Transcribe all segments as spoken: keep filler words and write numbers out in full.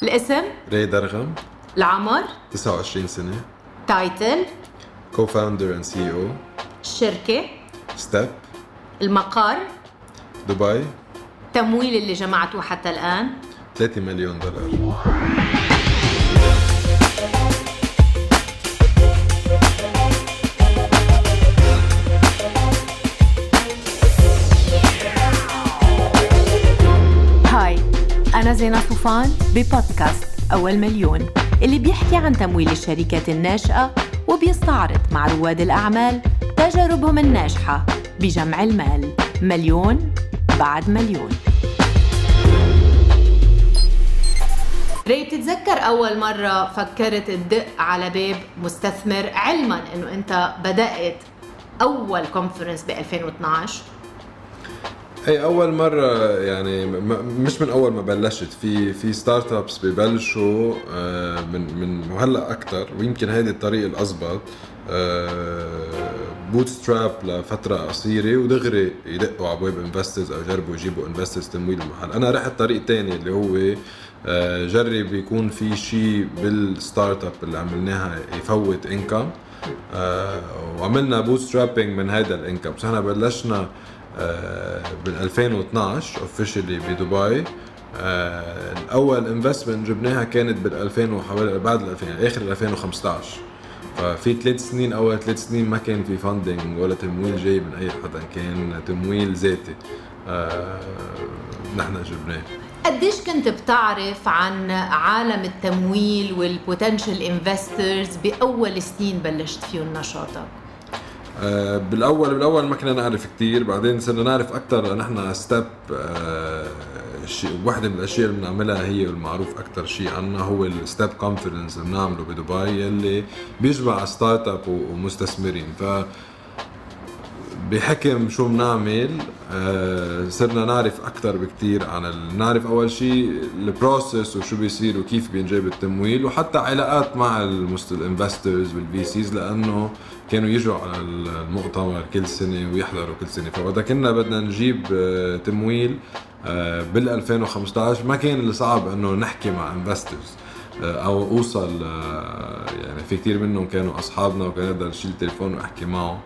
الاسم راي درغم. العمر تسعة وعشرين سنة. تايتل co-founder and سي إي أو. الشركة ستيب. المقر دبي. تمويل اللي جمعته حتى الآن ثلاثة مليون دولار. هاي أنا زينة صوفان ببودكاست أول مليون اللي بيحكي عن تمويل الشركات الناشئة وبيستعرض مع رواد الأعمال تجاربهم الناجحة بجمع المال مليون بعد مليون. ري، بتتذكر أول مرة فكرت تدق على باب مستثمر علما أنه أنت بدأت أول كونفرنس ب ألفين واثناشر؟ اي اول مره يعني مش من اول ما بلشت في في ستارت ابس ببلشوا من من وهلا اكثر، ويمكن هذه الطريق الاضبط، بوت ستراب لفتره قصيره ودغري يدقوا على ابواب انفسترز او يجربوا يجيبوا انفسترز تمويل المحل. انا رحت طريق تاني اللي هو جرب يكون في شيء بالستارت اب اللي عملناها يفوت انكم، وعملنا بوت سترابينج من هذا الانكم. بس احنا بلشنا بال ألفين واثناشر اوفيشلي بدبي. الاول انفستمنت جبناها كانت بال ألفين وحوالي بعد ال ألفين يعني اخر ألفين وخمسطعش. ففي ثلاث سنين اول ثلاث سنين ما كان في فاندنج ولا تمويل جاي من اي حدا، كان تمويل ذاتي نحن جبناه. قديش كنت بتعرف عن عالم التمويل والبوتنشال انفسترز باول سنين بلشت فيهم نشاطك؟ آه بالاول بالاول ما كنا نعرف كتير، بعدين صرنا نعرف اكثر. نحن ستيب آه شيء واحده من الاشياء اللي بنعملها هي المعروف اكثر شيء عنا هو الستيب كونفرنس اللي بنعمله بدبي، يلي بيجمع ستارت اب ومستثمرين. ف بحكم شو بنعمل آه صرنا نعرف اكثر بكتير عن ال... نعرف اول شيء البروسيس وشو بيصير وكيف بينجاب التمويل، وحتى علاقات مع الانفسترز والفي سيز، لانه كانوا يجوا على المؤتمر كل سنه ويحضروا كل سنه. فوقتها كنا بدنا نجيب آه تمويل آه بال ألفين وخمسطعش ما كان اللي صعب انه نحكي مع انفسترز او اوصل، يعني في كتير منهم كانوا اصحابنا وكان اقدر اشيل التليفون واحكي معه.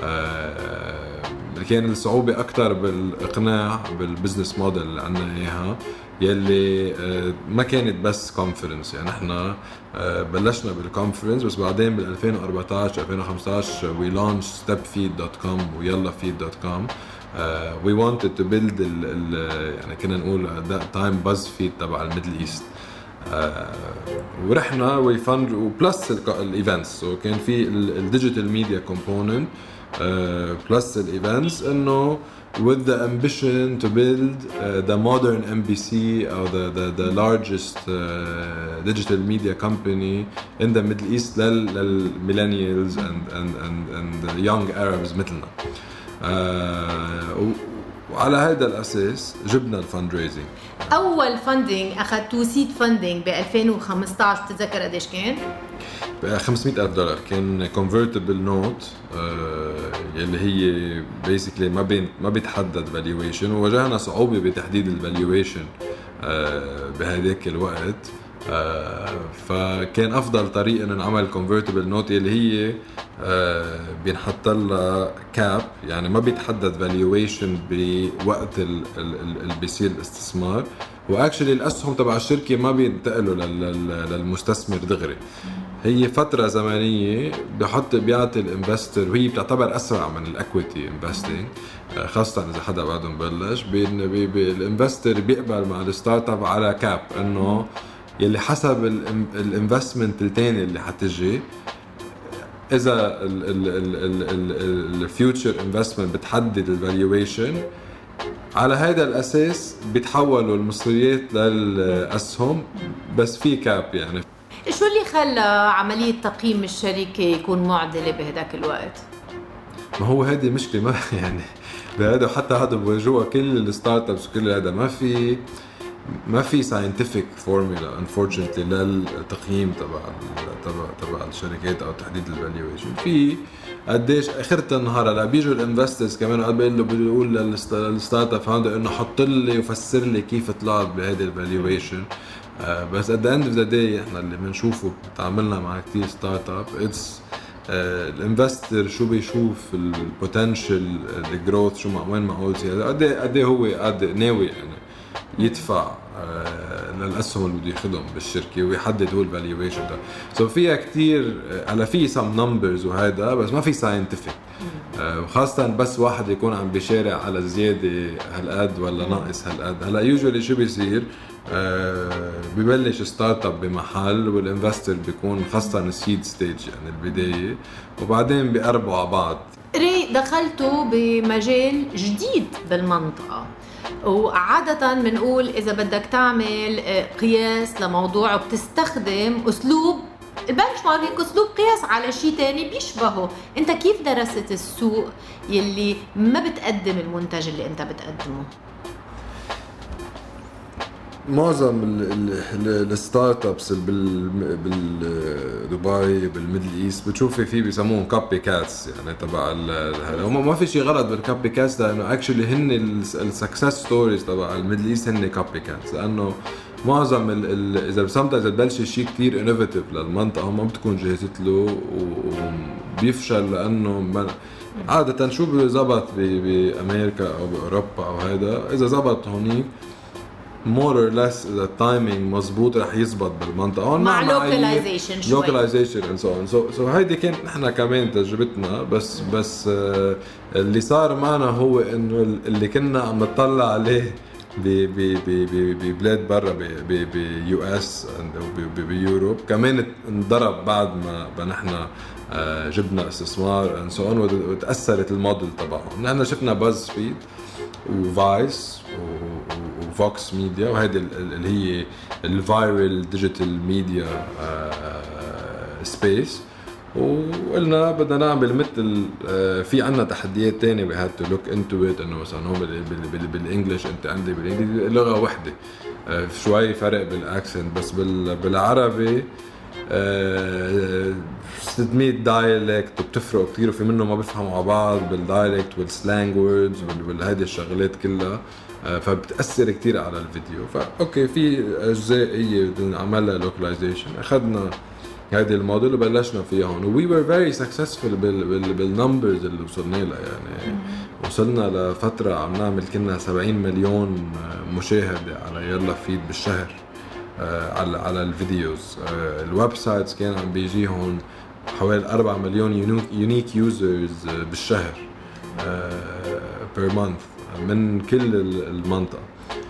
كان الصعوبه اكتر بالاقناع بالبزنس موديل اللي عندنا اياها، يلي ما كانت بس كونفرنس. يعني احنا بلشنا بالكونفرنس، بس بعدين بال ألفين وأربعطعش ألفين وخمسطعش وي لانش ستيب فيد دوت كوم ويلا فيد دوت كوم. وي wanted to build ال ال يعني كنا نقول that time buzz feed تبع الميدل ايست. آه ورحنا ويفند وبلس الايفنتس، وكان في الديجيتال ميديا كومبوننت بلس الايفنتس، انه with the ambition to build uh, the modern إم بي سي or the the the largest uh, digital media company in the Middle East لل millennials and and and and the young Arabs مثلنا. uh, وعلى هذا الأساس جبنا الفند ريزنج. أول فندنج أخذتوا سيد فندنج ب ألفين وخمسطعش، بتتذكر قديش كان؟ خمسمية ألف دولار. كان convertible note آه يلي هي basically ما بين ما بيتحدد valuation، وواجهنا صعوبة بتحديد الvaluation آه بهذاك الوقت. آه فكان أفضل طريقة إن نعمل convertible note يلي هي آه بينحط لها كاب، يعني ما بيتحدد valuation بوقت اللي بيصير الاستثمار، واكشلي الاسهم تبع الشركه ما بينتقلوا للمستثمر دغري. هي فتره زمنيه بحط بيعطي الانفستر، وهي بتعتبر اسرع من الاكويتي انفستنج، خاصه اذا حدا بعده مبلش. الانفستر بيقبل مع الستارت اب على كاب، انه يلي حسب الانفستمنت الثاني اللي حتجي، اذا الفيوتشر انفستمنت بتحدد الفالويشن، على هذا الاساس بيتحولوا المصريات للاسهم، بس في كاب. يعني شو اللي خلى عمليه تقييم الشركه يكون معضله بهداك الوقت؟ ما هو هذه مشكله، ما يعني بهذا حتى هذا بواجهوها كل الستارت ابس وكل هذا، ما في ما في scientific formula unfortunately للتقييم تبع تبع تبع الشركات او تحديد الفالويشن. في قديش اخرت النهار هلا بيجوا الانفسترز كمان قال له بيقول للستارت اب فاوندر انه حط لي وفسر لي كيف طلعت بهذه الفالويشن. بس at the end of the day احنا اللي بنشوفه تعاملنا مع كتير ستارت اب اتس الانفستر شو بيشوف البوتنشال الجروث شو مع وين معقول زياده قد ايه قد ايه هو قد ناوي يعني يدفع للاسهم اللي بده ياخذهم بالشركه ويحدد هو الفالويشن ده. سو so فيها كتير على في سم نمبرز وهذا بس ما في ساينتفك وخاصه بس واحد يكون عم بيشارع على زياده هالقد ولا ناقص هالقد. هلا يوجوالي شو بيصير أه ببلش ستارت اب بمحل والانفستر بيكون خاصه السيد ستيج يعني البدايه وبعدين بيقربوا على بعض. ري دخلتوا بمجال جديد بالمنطقه وعادة بنقول إذا بدك تعمل قياس لموضوع بتستخدم أسلوب البنش ماركينج أسلوب قياس على شيء تاني بيشبهه. أنت كيف درست السوق يلي ما بتقدم المنتج اللي أنت بتقدمه؟ معظم الستارت ابس بالدبي بالميدل ايست بتشوفي فيه بيسموهم كوبي كاتس يعني تبع هذا. هم ما في شيء غلط بالكوبي كاتس لانه اكشلي هن السكسس ستوريز تبع الميدل ايست هن كوبي كاتس لانه معظم ال ال اذا بسمت اذا ببلش شيء كثير انوفيتيف للمنطقه ما بتكون جهزت له وبيفشل لانه عاده شو بزبط بامريكا او باوروبا او هذا اذا زبط هونيك more or less إذا التايمينج مزبوط رح يزبط بالمنطقة مع localization شوي localization and so on. so so هيدي كانت نحن كمان تجربتنا بس بس uh, اللي صار معنا هو إنه اللي كنا عم نطلع عليه ببلاد برا بيو اس وبيوروب كمان انضرب بعد ما نحن جبنا استثمار and so on وتأثرت الموديل تبعهم. نحن شفنا باز فيد وفايس وفوكس ميديا وهذه اللي هي الفايرال ديجيتال ميديا سبيس وقلنا بدنا نعمل مثل في عنا تحديات تانية we had to look into it انه مثلا هون بالانجلش انت عندي بالانجليزي لغة وحدة شوي فرق بالاكسنت بس بالعربي ستمية دايلكت وبتفرق كتير وفي منه ما بيفهموا على بعض بالدايلكت والسلانج ووردز وهذه الشغلات كلها فبتأثر كتير على الفيديو. فأوكي في أجزاء هي بدنا نعملها لوكاليزيشن أخذنا هذه الموديل وبلشنا فيها هون و we were very successful بالنمبرز اللي وصلنا لها يعني وصلنا لفترة عم نعمل كنا سبعين مليون مشاهدة على يلا فيد بالشهر على على الفيديوز. الويب سايتس كان عم بيجيهم حوالي أربعة مليون يونيك يوزرز بالشهر بير مانث من كل المنطقة.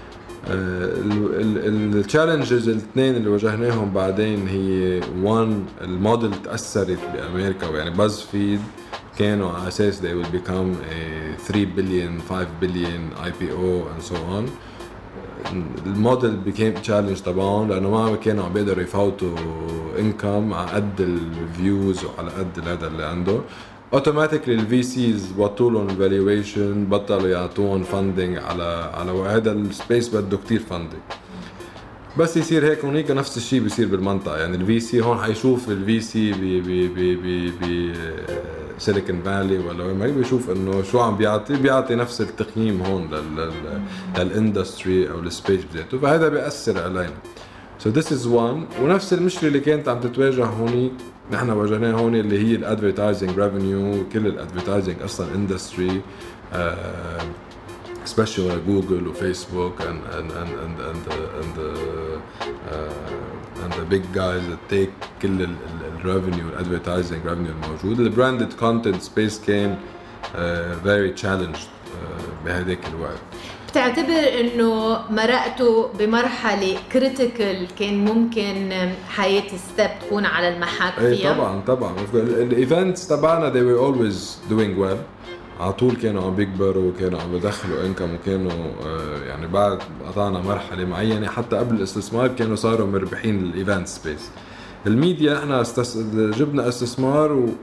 التشالنجز الاثنين اللي واجهناهم بعدين هي وان الموديل تأثرت بأمريكا يعني باز فيد كانوا على أساس they will become a three billion five billion I P O and so on. الموديل became challenge طبعاً لأنه ما كانوا عم بيقدروا يفوتوا income على قد الفيوز وعلى قد هذا اللي عنده. اوتوماتيكلي الفي سيز بطلوا لهم الفالويشن بطلوا يعطوهم فاندنج على على وهذا السبيس بده كتير فاندنج. بس يصير هيك هونيك نفس الشيء بيصير بالمنطقه يعني الفي سي هون حيشوف الفي سي ب ب ب ب سيليكون فالي ولا وين ما بيشوف انه شو عم بيعطي بيعطي نفس التقييم هون لل للاندستري او السبيس بذاته فهذا بيأثر علينا. So this is one. ونفس المشكله اللي كانت عم تتواجه هونيك نحن واجهناها هون اللي هي الادفيرتايزنج ريفينيو. كل الادفيرتايزنج اصلا اندستري especially جوجل وفيسبوك and and and and and the, and the, uh, and the big guys that take كل الريفينيو الادفيرتايزنج ريفينيو الموجود. البراندد كونتنت سبيس كان uh, very challenged uh, بهذاك الوقت. بتعتبر انه مرقتوا بمرحله كريتيكال كان ممكن حياه ستيب تكون على المحك فيها؟ اي طبعا طبعا الايفنتس تبعنا they were always doing well على طول كانوا عم بيكبروا وكانوا عم بدخلوا انكم وكانوا يعني بعد قطعنا مرحله معينه حتى قبل الاستثمار كانوا صاروا مربحين الايفنت سبيس. الميديا احنا استس... جبنا استثمار و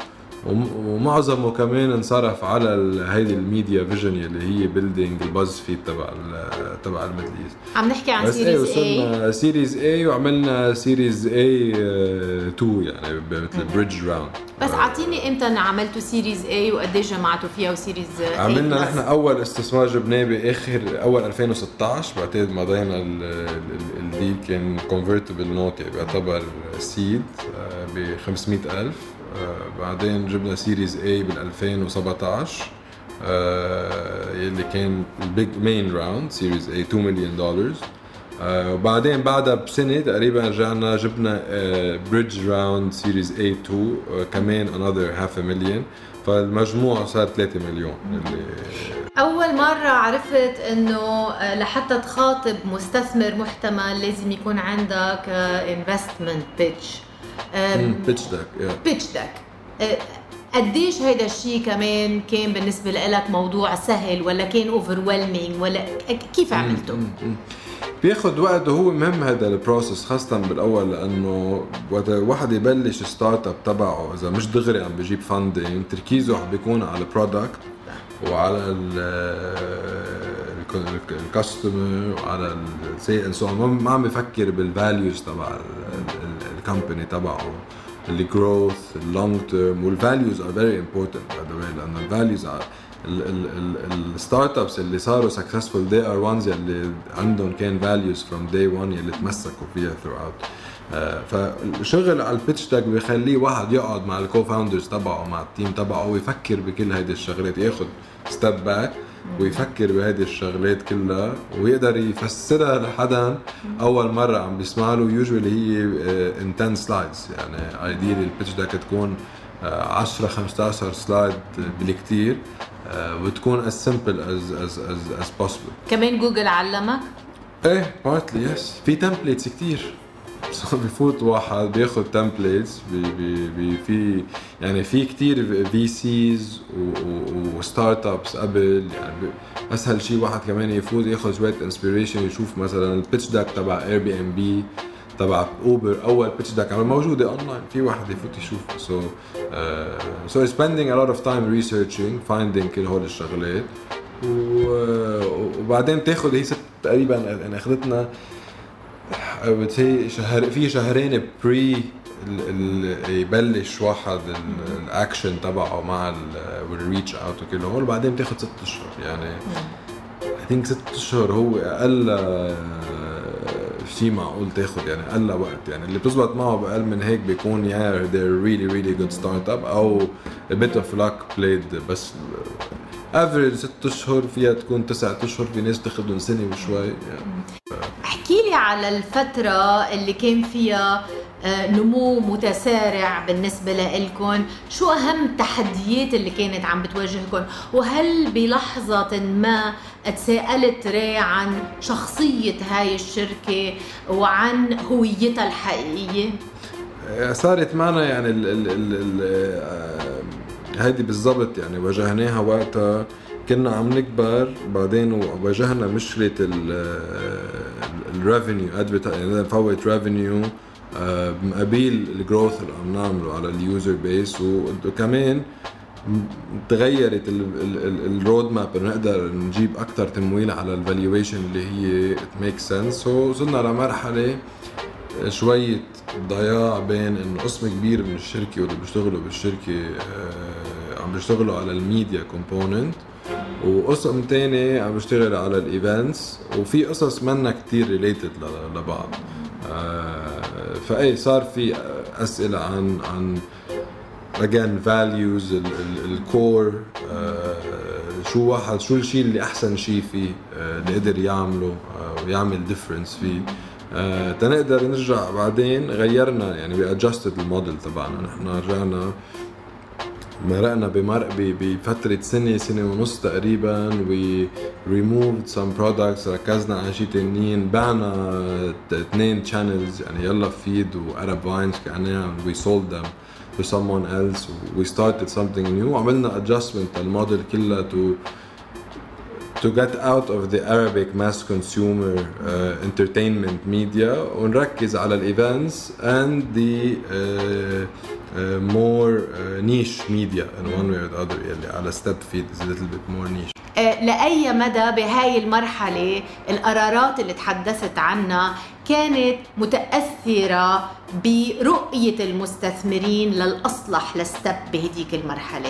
ومعظمه كمان انصرف على هيدي الميديا فيجن اللي هي بيلدينج الباز فيد تبع تبع الميدل ايست. عم نحكي عن سيريز اي سيريز اي وعملنا سيريز اي اثنين يعني مثل بريدج راوند. بس اعطيني امتى عملتوا سيريز اي وقديش جمعتوا فيها وسيريز اي؟ عملنا نحن اول استثمار جبناه باخر اول ألفين وستة عشر، بعدين مضينا الديل كان كونفرتبل نوت يعني بيعتبر سيد ب خمسمية ألف. بعدين جبنا سيريز اي بال ألفين وسبعة عشر يلي كان البيج مين راوند سيريز اي اثنين مليون دولار. وبعدين بعدها بسنة تقريبا رجعنا جبنا بريدج راوند سيريز اي اثنين كمان another half a million، فالمجموع صار ثلاثة مليون. اللي أول مرة عرفت إنه لحتى تخاطب مستثمر محتمل لازم يكون عندك investment pitch. pitch deck yeah. pitch deck. قديش هيدا الشيء كمان كان بالنسبة لك موضوع سهل ولا كان overwhelming ولا كيف عملته؟ بياخد وقت وهو مهم هذا البروسس خاصة بالأول، لأنه وقت واحد يبلش ستارت اب تبعه إذا مش دغري عم بيجيب فاندينج تركيزه بيكون على البرودكت وعلى الكاستمر وعلى السيل سو ما عم بفكر بالفاليوز تبع الكومباني تبعه، الجروث اللونج تيرم. والفاليوز ار فيري امبورتنت باي ذا واي، لأن الفاليوز الستارت ابس اللي صاروا سكسسفول they are ones اللي عندهم كان values from day one اللي تمسكوا فيها throughout. آه فالشغل على البيتش داك بيخليه واحد يقعد مع الكو فاوندرز تبعه مع التيم تبعه ويفكر بكل هيدي الشغلات، ياخد ستيب باك ويفكر بهيدي الشغلات كلها ويقدر يفسرها لحدا اول مره عم بيسمع له. usually هي in ten slides يعني ideally البيتش داك تكون عشرة خمسة عشر سلايد بالكتير وتكون as simple as as as as possible. كمان جوجل علمك؟ ايه partly yes. في templates كتير بيفوت واحد بياخد templates بي بي بي في يعني في كتير في سيز وستارت ابس قبل يعني اسهل شيء واحد كمان يفوت ياخد شويه انسبيريشن يشوف مثلا البيتش داك تبع اير بي ام بي تبع اوبر اول بيتش داك عمل موجوده اونلاين في واحد يفوت يشوف. so uh, so spending a lot of time researching finding كل هول الشغلات وبعدين تاخد هي ست تقريبا يعني اخذتنا بتهي شهر في شهرين بري يبلش واحد الاكشن تبعه مع الريتش اوت وكل هول، بعدين بتاخد ست اشهر يعني I think ست اشهر هو اقل شيء معقول تاخد يعني اقل وقت يعني اللي بتزبط معه باقل من هيك بيكون يا yeah, they're really really good startup او a bit of luck played. بس افريج ست اشهر فيها تكون تسعة اشهر، في ناس تاخدهم سنه وشوي يعني. احكي لي على الفتره اللي كان فيها نمو متسارع بالنسبه لكم، شو اهم التحديات اللي كانت عم بتواجهكم، وهل بلحظه ما تساءلت ري عن شخصيه هاي الشركه وعن هويتها الحقيقيه؟ صارت معنا يعني ال ال ال هيدي بالضبط يعني واجهناها وقتها كنا عم نكبر، بعدين واجهنا مشكله الريفينيو يعني نفوت ريفينيو مقابل الجروث اللي عم نعمله على اليوزر بيس، وكمان تغيرت الرود ماب نقدر نجيب اكثر تمويل على الفالويشن اللي هي ميك سنس. وصلنا لمرحله شويه ضياع بين انه قسم كبير من الشركه واللي بيشتغلوا بالشركه عم بيشتغلوا على الميديا كومبوننت وقسم تاني عم بيشتغل على الايفنتس، وفي قصص منا كتير ريليتد لبعض. فاي صار في اسئله عن عن again values الكور شو واحد شو الشيء اللي احسن شيء فيه اللي قدر يعمله ويعمل difference فيه. آه تنقدر نرجع بعدين غيرنا يعني we adjusted الموديل تبعنا. نحن رجعنا مرقنا بمرق بفترة سنة سنة ونص تقريبا we removed some products ركزنا على شيء تانيين، بعنا اثنين channels يعني يلا فيد و Arab Vines كأنها we sold them to someone else we started something new وعملنا adjustment الموديل كلها to to get out of the Arabic mass consumer uh, entertainment media ونركز على الايفنتس and the uh, uh, more uh, niche media in one way or the other يلي على step feed is a little bit more niche. لأي مدى بهاي المرحلة القرارات اللي تحدثت عنها كانت متأثرة برؤية المستثمرين للأصلح لستب بهديك المرحلة؟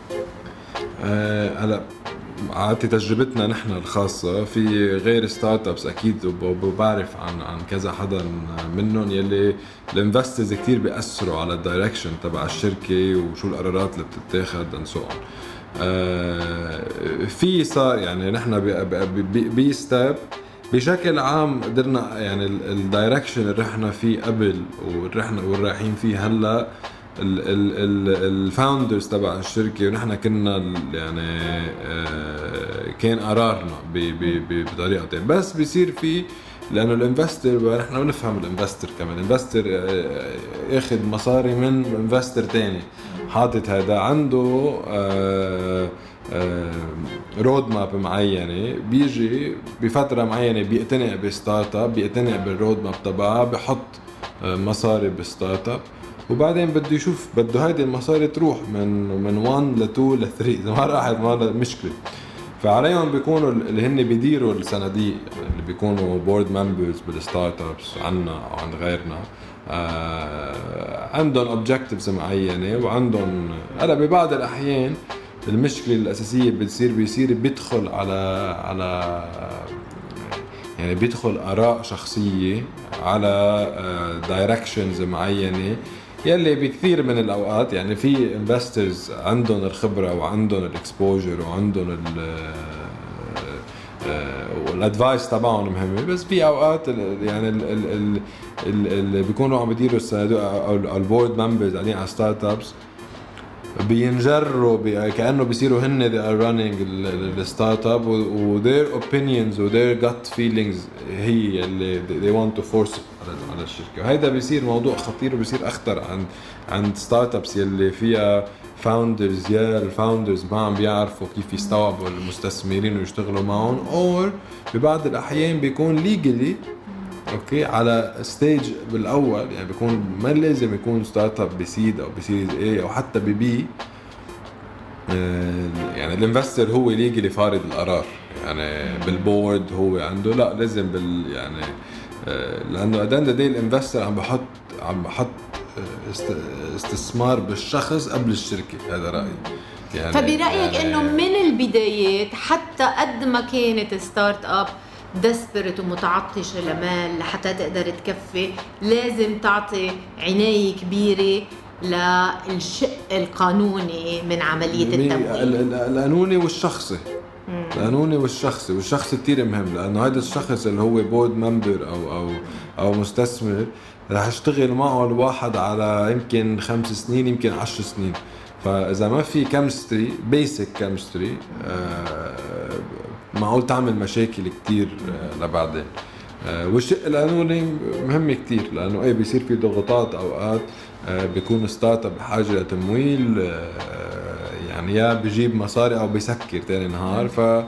هلا أه عادة تجربتنا نحن الخاصة في غير ستارت ابس اكيد وبعرف عن عن كذا حدا منهم يلي الانفسترز كتير بيأثروا على الدايركشن تبع الشركة وشو القرارات اللي بتتاخد and so on. آه في صار يعني نحن بستاب بشكل عام قدرنا يعني الدايركشن اللي رحنا فيه قبل ورحنا والرايحين فيه هلا الفاوندرز تبع الشركه ونحن كنا يعني آه كان قرارنا بطريقه بس بيصير فيه لانه الانفستر نحن بنفهم الانفستر كمان الانفستر آه ياخذ مصاري من انفستر تاني حاطط هذا عنده آه آه رود ماب معينه بيجي بفتره معينه بيقتنع بستارت اب بيقتنع بالرود ماب تبعها بحط آه مصاري بالستارت اب وبعدين بده يشوف بده هيدي المصاري تروح من من واحد ل اثنين ل ثلاثة اذا ما راحت ما مشكله. فعليهم بيكونوا اللي هن بيديروا الصناديق اللي بيكونوا بورد ممبرز بالستارت ابس عنا او عند غيرنا آه عندهم اوبجكتيفز معينه وعندهم هلا ببعض الاحيان المشكله الاساسيه بتصير بيصير بيدخل على على يعني بيدخل اراء شخصيه على دايركشنز معينه يلي بكثير من الاوقات يعني في انفسترز عندهم الخبره وعندهم الاكسبوجر وعندهم الادفايس تبعهم مهمه بس في اوقات يعني اللي بيكونوا عم يديروا الصناديق او البورد ممبرز قاعدين على ستارت ابس بينجروا بي كأنه بيصيروا هن they are running الستارت اب و their opinions و their gut feelings هي اللي they want to force على الشركة وهذا بيصير موضوع خطير وبيصير أخطر عند عند ستارت ابس يلي فيها founders يا الفاوندرز ما عم بيعرفوا كيف يستوعبوا المستثمرين ويشتغلوا معهم أو ببعض الأحيان بيكون legally اوكي على ستيج بالاول يعني بيكون ما لازم يكون ستارت اب بسيد او بسيريز اي او حتى ببي يعني الانفستر هو اللي يجي لفارض القرار يعني بالبورد هو عنده لا لازم بال يعني لانه ادان دي الانفستر عم بحط عم بحط استثمار بالشخص قبل الشركه هذا رايي يعني. فبرايك يعني انه من البدايات حتى قد ما كانت ستارت اب دسبرت ومتعطشة لمال لحتى تقدر تكفي لازم تعطي عناية كبيرة للشق القانوني من عملية التمويل القانوني والشخصي القانوني والشخصي والشخصي كتير مهم لأنه هذا الشخص اللي هو بورد ممبر أو أو أو مستثمر رح يشتغل معه الواحد على يمكن خمس سنين يمكن عشر سنين فإذا ما في كيمستري بيسك كيمستري معقول تعمل مشاكل كتير لبعدين والشيء القانوني مهم كتير لأنه أي بيصير في ضغوطات أوقات بيكون ستارت اب بحاجة لتمويل يعني يا بيجيب مصاري أو بيسكر تاني نهار ف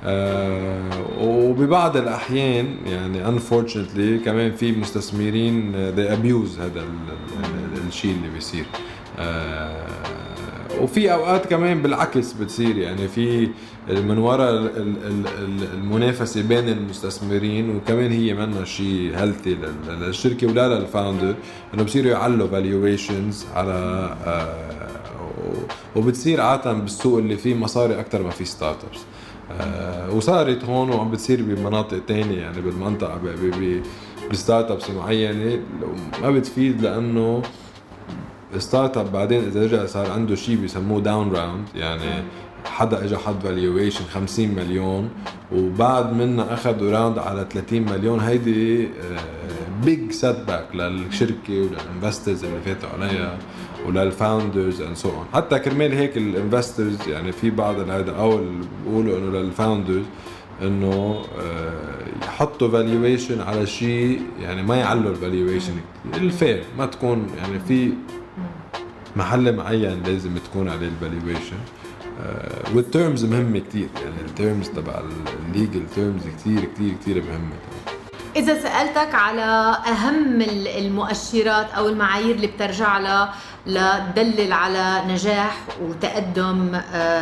وببعض الأحيان يعني unfortunately كمان في مستثمرين they abuse هذا الشيء اللي بيصير وفي أوقات كمان بالعكس بتصير يعني في من وراء المنافسة بين المستثمرين وكمان هي منها شيء هيلثي للشركة ولا للفاوندر إنه بصيروا يعلوا valuations على وبتصير عادة بالسوق اللي فيه مصاري أكتر ما في ستارت ابس وصارت هون وعم بتصير بمناطق تانية يعني بالمنطقة بستارت ابس معينة ما بتفيد لأنه ستارت اب بعدين إذا رجع صار عنده شيء بيسموه داون راوند يعني حدا اجى حط فاليويشن خمسين مليون وبعد منا اخذوا راوند على ثلاثين مليون هيدي بيج سيت باك للشركه وللانفسترز اللي فاتوا عليها وللفاوندرز اند سو اون حتى كرمال هيك الانفسترز يعني في بعض هذا او بيقولوا انه للفاوندرز انه يحطوا فاليويشن على شيء يعني ما يعلوا الفاليويشن الفير ما تكون يعني في محل معين لازم تكون عليه الفاليويشن والتيرمز مهمة كتير، يعني التيرمز تبع الليجل تيرمز كتير كتير كتير مهمة. إذا سألتك على أهم المؤشرات أو المعايير اللي بترجع لها لتدلل على نجاح وتقدم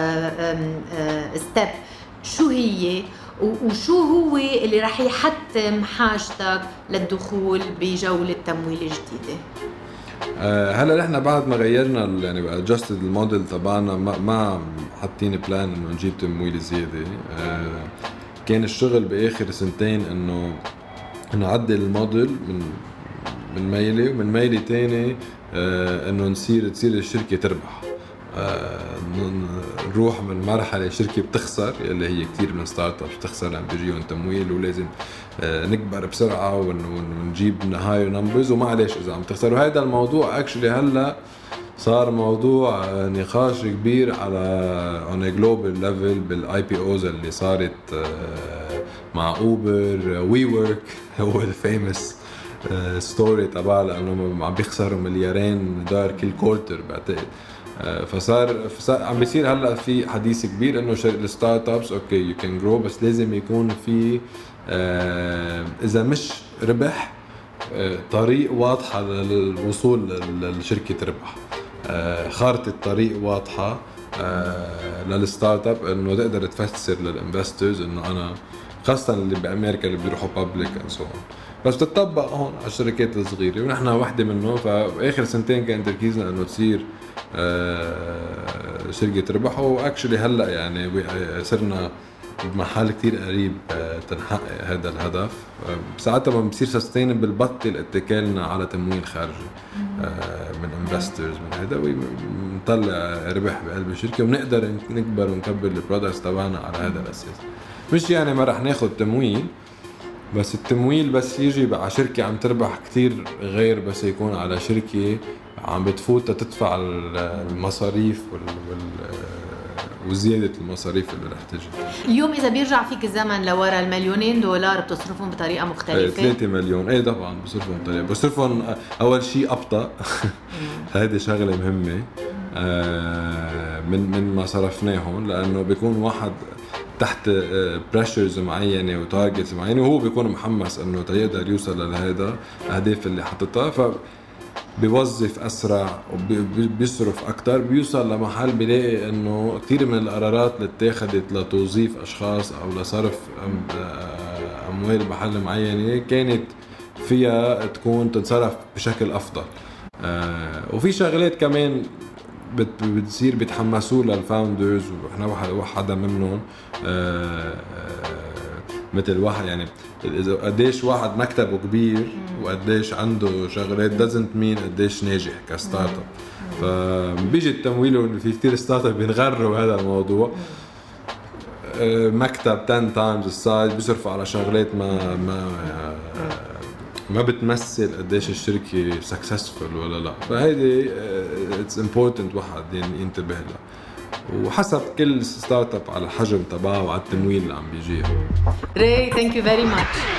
ستيب، شو هي وشو هو اللي رح يحتم حاجتك للدخول بجولة تمويل جديدة؟ هلا نحن بعد ما غيرنا يعني adjusted الموديل تبعنا ما, ما حاطين بلان انه نجيب تمويل زياده. كان الشغل باخر سنتين انه نعدل الموديل من من ميله ومن ميله تاني انه نصير تصير الشركه تربح، نروح من مرحله شركه بتخسر اللي هي كتير من ستارت ابس بتخسر لما بيجيهم تمويل ولازم نكبر بسرعه ونجيب هاي نمبرز ومعلش اذا عم تخسر. وهذا الموضوع اكشلي هلا صار موضوع نقاش كبير على on a global level بالاي بي اوز اللي صارت مع اوبر وي ورك. هو الفيمس ستوري تبع لانه عم بيخسروا مليارين دولار كل كورتر بعتقد. فصار, فصار عم بيصير هلا في حديث كبير انه الستارت ابس اوكي يو كان جرو، بس لازم يكون في اذا مش ربح طريق واضحه للوصول للشركه تربح، خارطه الطريق واضحه للستارت اب انه تقدر تفسر للانفسترز انه انا خاصه اللي بامريكا اللي بيروحوا بابليك اند سو اون، بس تطبق هون على الشركات الصغيره ونحن واحده منه. فاخر سنتين كان تركيزنا انه تصير شركه تربح، واكشلي هلا يعني صرنا بمحل كتير قريب تنحقق هذا الهدف. ساعتها ما بصير سستينبل بطل اتكالنا على تمويل خارجي من انفسترز من هذا، ونطلع ربح بقلب الشركه ونقدر نكبر ونكبر البرودكتس تبعنا على هذا الاساس. مش يعني ما رح ناخد تمويل، بس التمويل بس يجي على شركه عم تربح كتير غير بس يكون على شركه عم بتفوت تدفع المصاريف وال, وال وزيادة المصاريف اللي رح تجي. اليوم إذا بيرجع فيك الزمن لورا، المليونين دولار بتصرفهم بطريقة مختلفة؟ ثلاثة مليون ايه طبعا بصرفهم بطريقة، بصرفهم أول شيء أبطأ هذه شغلة مهمة من من ما صرفناهم، لأنه بيكون واحد تحت بريشرز معينة وتارجتس معينة وهو بيكون محمس إنه تقدر يوصل لهذا الأهداف اللي حطتها، ف بيوظف أسرع وبيصرف أكتر، بيوصل لمحل بيلاقي إنه كتير من القرارات اللي اتخذت لتوظيف أشخاص أو لصرف أموال بحل معينة كانت فيها تكون تتصرف بشكل أفضل. وفي شغلات كمان بتصير بيتحمسوا للفاوندرز، وإحنا واحدة منهم مثل واحد يعني قديش واحد مكتبه كبير وقديش عنده شغلات doesn't mean قديش ناجح كستارت اب. فبيجي التمويل وفي كتير ستارت اب بينغروا بهذا الموضوع، مكتب عشرة تايمز السايز بيصرفوا على شغلات ما ما ما بتمثل قديش الشركه successful ولا لا. فهيدي it's important واحد يعني ينتبه لها، وحسب كل ستارت اب على الحجم تبعه وعلى التمويل اللي عم بيجيه. Ray, thank you very much.